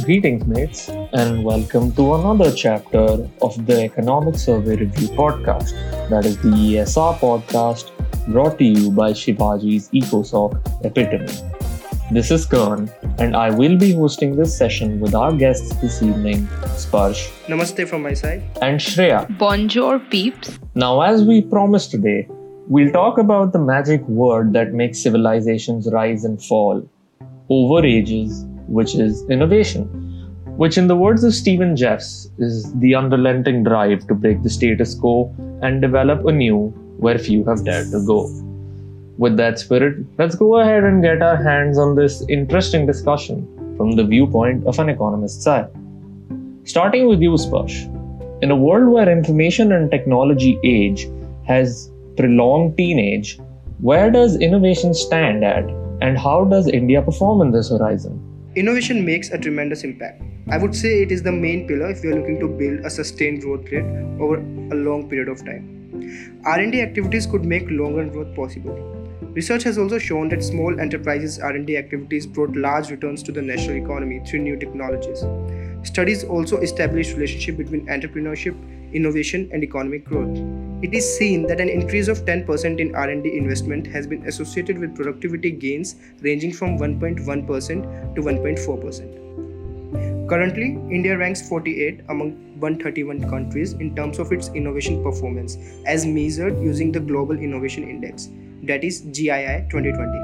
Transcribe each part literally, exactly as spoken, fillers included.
Greetings, mates, and welcome to another chapter of the Economic Survey Review podcast. That is the E S R podcast brought to you by Shivaji's EcoSoc Epitome. This is Kern, and I will be hosting this session with our guests this evening, Sparsh. Namaste from my side. And Shreya. Bonjour, peeps. Now, as we promised today, we'll talk about the magic word that makes civilizations rise and fall over ages, which is innovation, which in the words of Stephen Jeffs is the unrelenting drive to break the status quo and develop anew where few have dared to go. With that spirit, let's go ahead and get our hands on this interesting discussion from the viewpoint of an economist's eye. Starting with you, Sparsh. In a world where information and technology age has prolonged teenage, where does innovation stand at, and how does India perform in this horizon? Innovation makes a tremendous impact. I would say it is the main pillar if we are looking to build a sustained growth rate over a long period of time. R and D activities could make long-run growth possible. Research has also shown that small enterprises' R and D activities brought large returns to the national economy through new technologies. Studies also establish relationship between entrepreneurship, innovation, and economic growth. It is seen that an increase of ten percent in R and D investment has been associated with productivity gains ranging from one point one percent to one point four percent. Currently, India ranks forty-eight among one hundred thirty-one countries in terms of its innovation performance as measured using the Global Innovation Index, that is G I I twenty twenty.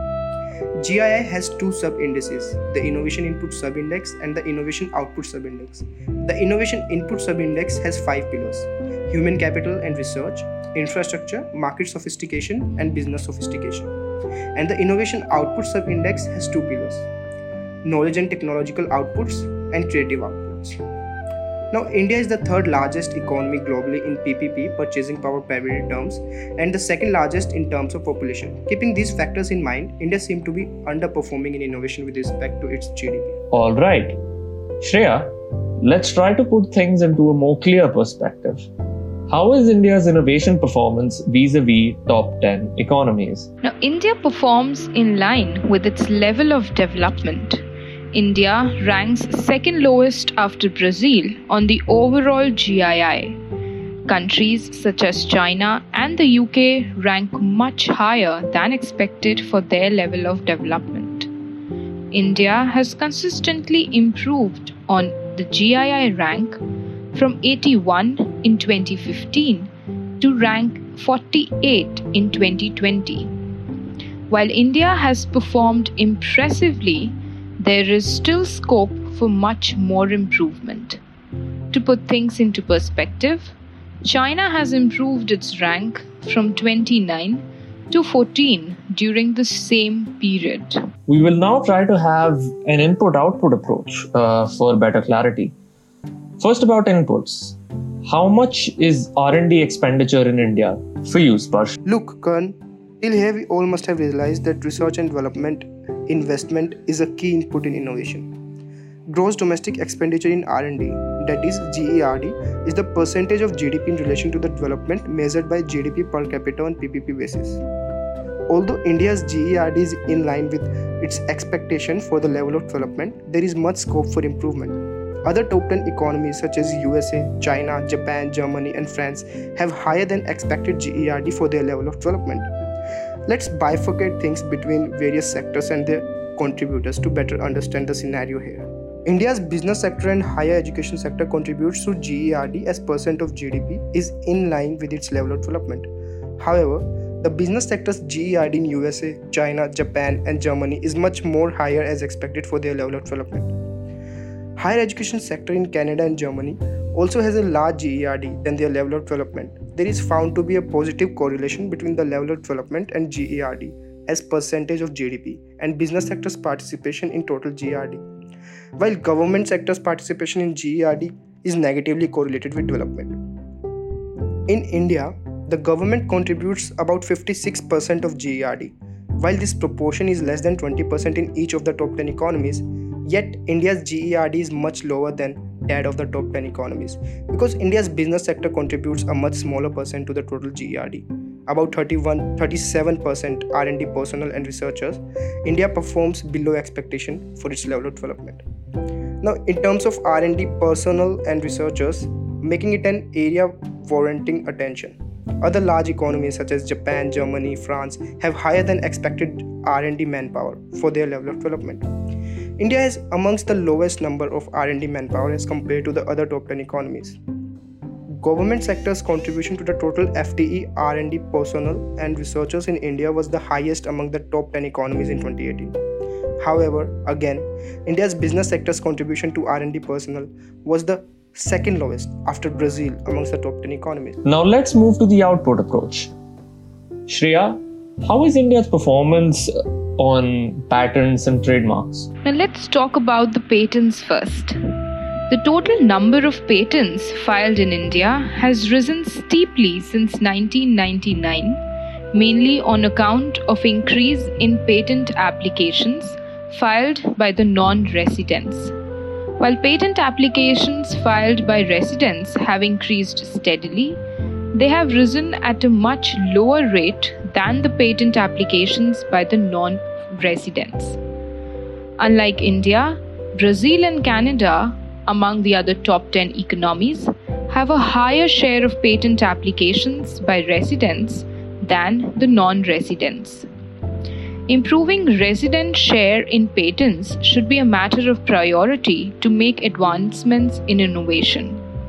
G I I has two sub-indices, the Innovation Input Sub-Index and the Innovation Output Sub-Index. The Innovation Input Sub-Index has five pillars: human capital and research, infrastructure, market sophistication, and business sophistication. And the Innovation Output Sub-Index has two pillars: knowledge and technological outputs and creative outputs. Now, India is the third largest economy globally in P P P, purchasing power parity terms, and the second largest in terms of population. Keeping these factors in mind, India seems to be underperforming in innovation with respect to its G D P. All right. Shreya, let's try to put things into a more clear perspective. How is India's innovation performance vis-a-vis top ten economies? Now, India performs in line with its level of development. India ranks second lowest after Brazil on the overall G I I. Countries such as China and the U K rank much higher than expected for their level of development. India has consistently improved on the G I I rank from eighty-one in twenty fifteen to rank forty-eight in twenty twenty. While India has performed impressively, there is still scope for much more improvement. To put things into perspective, China has improved its rank from twenty-nine to fourteen during the same period. We will now try to have an input-output approach uh, for better clarity. First, about inputs. How much is R and D expenditure in India for you, Sparsh? Look, Kern, till here we all must have realized that research and development investment is a key input in innovation. Gross domestic expenditure in R and D, that is G E R D, is the percentage of G D P in relation to the development measured by G D P per capita on P P P basis. Although India's G E R D is in line with its expectation for the level of development, there is much scope for improvement. Other top ten economies such as U S A, China, Japan, Germany, and France have higher than expected G E R D for their level of development. Let's bifurcate things between various sectors and their contributors to better understand the scenario here. India's business sector and higher education sector contributes to G E R D as percent of G D P is in line with its level of development. However, the business sector's G E R D in U S A, China, Japan, and Germany is much more higher as expected for their level of development. Higher education sector in Canada and Germany also has a large G E R D than their level of development. There is found to be a positive correlation between the level of development and G E R D as percentage of G D P and business sector's participation in total G E R D, while government sector's participation in G E R D is negatively correlated with development. In India, the government contributes about fifty-six percent of G E R D. While this proportion is less than twenty percent in each of the top ten economies, yet India's G E R D is much lower than that of the top ten economies because India's business sector contributes a much smaller percent to the total G E R D. About thirty-one, thirty-seven percent R and D personnel and researchers, India performs below expectation for its level of development. Now, in terms of R and D personnel and researchers, making it an area warranting attention. Other large economies such as Japan, Germany, France have higher than expected R and D manpower for their level of development. India is amongst the lowest number of R and D manpower as compared to the other top ten economies. Government sector's contribution to the total F T E, R and D personnel and researchers in India was the highest among the top ten economies in twenty eighteen. However, again, India's business sector's contribution to R and D personnel was the second lowest after Brazil amongst the top ten economies. Now let's move to the output approach. Shreya, how is India's performance on patents and trademarks? Now let's talk about the patents first. The total number of patents filed in India has risen steeply since nineteen ninety-nine, mainly on account of increase in patent applications filed by the non-residents. While patent applications filed by residents have increased steadily, they have risen at a much lower rate than the patent applications by the non-residents. Unlike India, Brazil and Canada, among the other top ten economies, have a higher share of patent applications by residents than the non-residents. Improving resident share in patents should be a matter of priority to make advancements in innovation.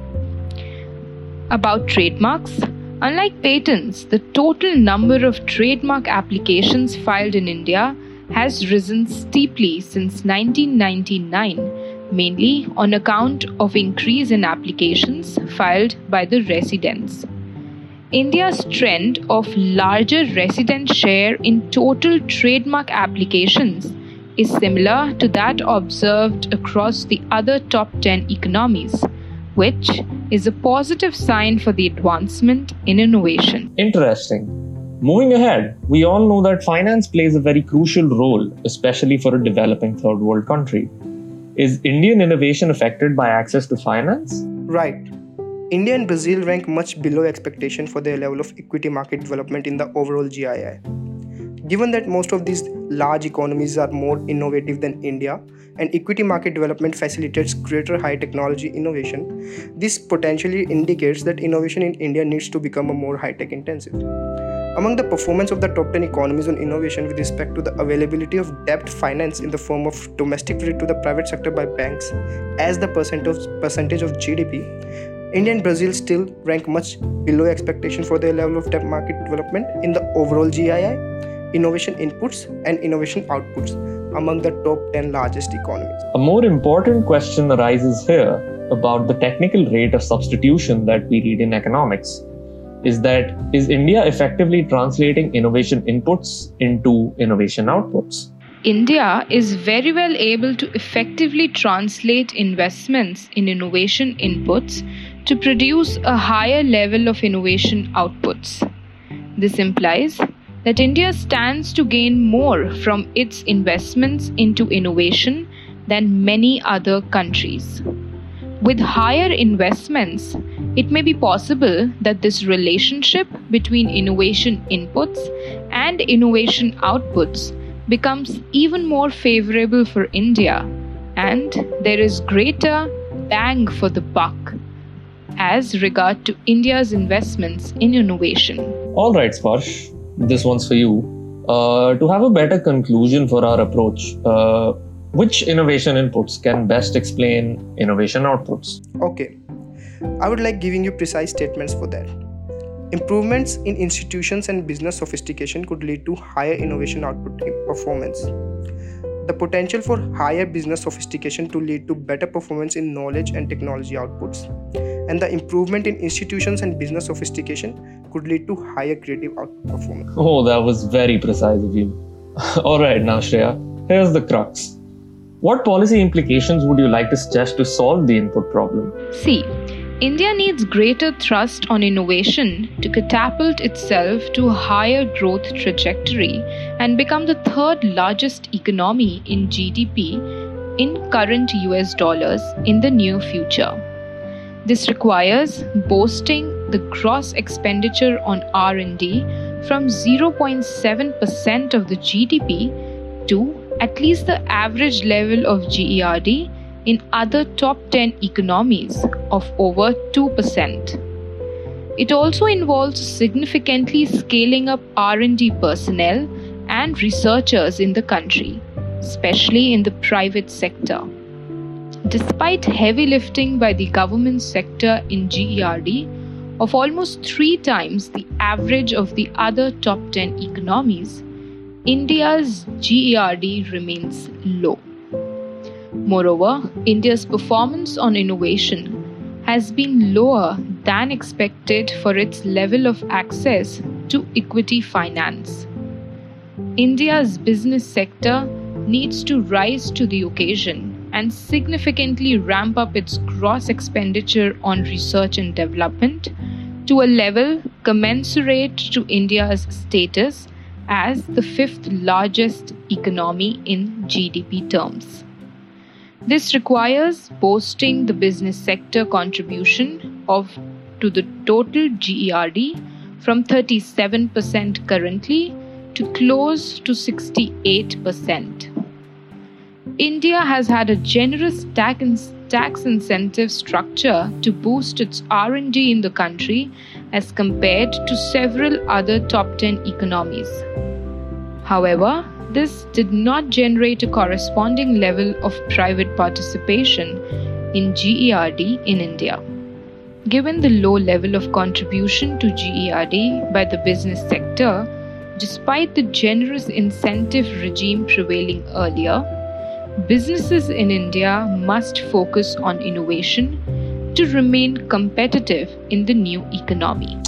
About trademarks, unlike patents, the total number of trademark applications filed in India has risen steeply since nineteen ninety-nine, mainly on account of increase in applications filed by the residents. India's trend of larger resident share in total trademark applications is similar to that observed across the other top ten economies, which is a positive sign for the advancement in innovation. Interesting. Moving ahead, we all know that finance plays a very crucial role, especially for a developing third world country. Is Indian innovation affected by access to finance? Right. India and Brazil rank much below expectation for their level of equity market development in the overall G I I. Given that most of these large economies are more innovative than India and equity market development facilitates greater high technology innovation, this potentially indicates that innovation in India needs to become a more high-tech intensive. Among the performance of the top ten economies on innovation with respect to the availability of debt finance in the form of domestic credit to the private sector by banks as the percentage percentage of G D P, India and Brazil still rank much below expectation for their level of debt market development in the overall G I I, innovation inputs and innovation outputs among the top ten largest economies. A more important question arises here about the technical rate of substitution that we read in economics. Is that, is India effectively translating innovation inputs into innovation outputs? India is very well able to effectively translate investments in innovation inputs to produce a higher level of innovation outputs. This implies that India stands to gain more from its investments into innovation than many other countries. With higher investments, it may be possible that this relationship between innovation inputs and innovation outputs becomes even more favorable for India, and there is greater bang for the buck as regard to India's investments in innovation. All right, Sparsh, this one's for you. Uh, to have a better conclusion for our approach, uh, which innovation inputs can best explain innovation outputs? Okay, I would like giving you precise statements for that. Improvements in institutions and business sophistication could lead to higher innovation output performance. The potential for higher business sophistication to lead to better performance in knowledge and technology outputs. And the improvement in institutions and business sophistication could lead to higher creative output performance. Oh, that was very precise of you. All right, now Shreya, here's the crux. What policy implications would you like to suggest to solve the input problem? See, India needs greater thrust on innovation to catapult itself to a higher growth trajectory and become the third largest economy in G D P in current U S dollars in the near future. This requires boosting the gross expenditure on R and D from zero point seven percent of the G D P to at least the average level of G E R D in other top ten economies of over two percent. It also involves significantly scaling up R and D personnel and researchers in the country, especially in the private sector. Despite heavy lifting by the government sector in G E R D of almost three times the average of the other top ten economies, India's G E R D remains low. Moreover, India's performance on innovation has been lower than expected for its level of access to equity finance. India's business sector needs to rise to the occasion and significantly ramp up its gross expenditure on research and development to a level commensurate to India's status as the fifth largest economy in G D P terms. This requires boosting the business sector contribution of to the total G E R D from thirty-seven percent currently to close to sixty-eight percent. India has had a generous tax tax incentive structure to boost its R and D in the country as compared to several other top ten economies. However, this did not generate a corresponding level of private participation in G E R D in India. Given the low level of contribution to G E R D by the business sector, despite the generous incentive regime prevailing earlier, businesses in India must focus on innovation to remain competitive in the new economy.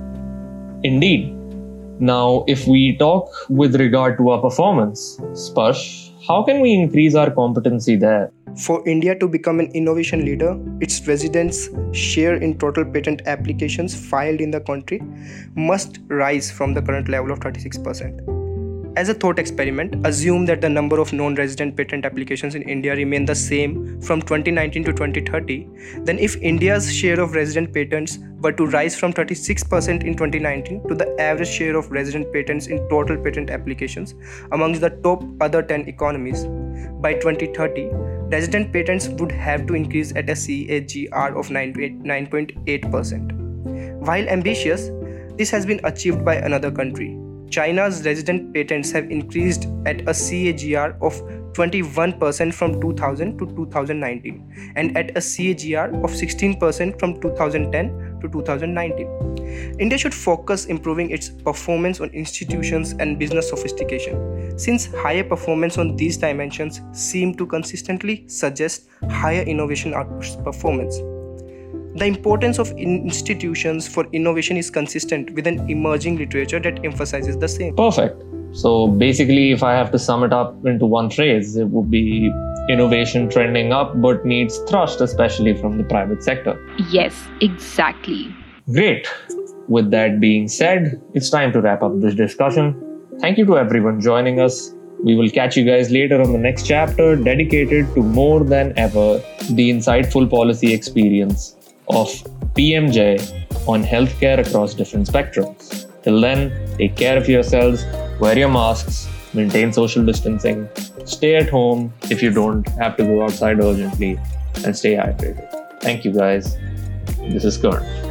Indeed. Now, if we talk with regard to our performance, Sparsh, how can we increase our competency there? For India to become an innovation leader, its residents' share in total patent applications filed in the country must rise from the current level of thirty-six percent. As a thought experiment, assume that the number of non-resident patent applications in India remain the same from twenty nineteen to twenty thirty, then if India's share of resident patents were to rise from thirty-six percent in twenty nineteen to the average share of resident patents in total patent applications amongst the top other ten economies, by twenty thirty, resident patents would have to increase at a C A G R of nine point eight percent. While ambitious, this has been achieved by another country. China's resident patents have increased at a C A G R of twenty-one percent from two thousand to two thousand nineteen and at a C A G R of sixteen percent from two thousand ten to two thousand nineteen. India should focus improving its performance on institutions and business sophistication, since higher performance on these dimensions seem to consistently suggest higher innovation output performance. The importance of institutions for innovation is consistent with an emerging literature that emphasizes the same. Perfect. So basically, if I have to sum it up into one phrase, it would be innovation trending up but needs thrust, especially from the private sector. Yes, exactly. Great. With that being said, it's time to wrap up this discussion. Thank you to everyone joining us. We will catch you guys later on the next chapter dedicated to more than ever the insightful policy experience of P M J on healthcare across different spectrums. Till then, take care of yourselves, wear your masks, maintain social distancing, stay at home if you don't have to go outside urgently, and stay hydrated. Thank you guys. This is Karan.